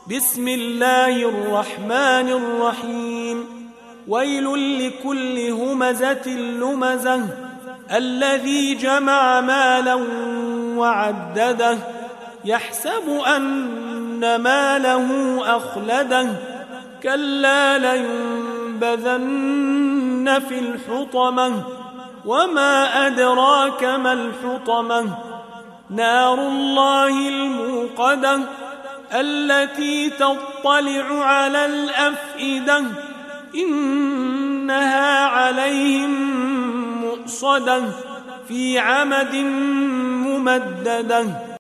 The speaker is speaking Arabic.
بسم الله الرحمن الرحيم ويل لكل همزة لمزة الذي جمع مالا وعدده يحسب أن ماله أخلده كلا لينبذن في الحطمة وما أدراك ما الحطمة نار الله الموقدة التي تطلع على الأفئدة إنها عليهم مؤصدة في عمد ممددة.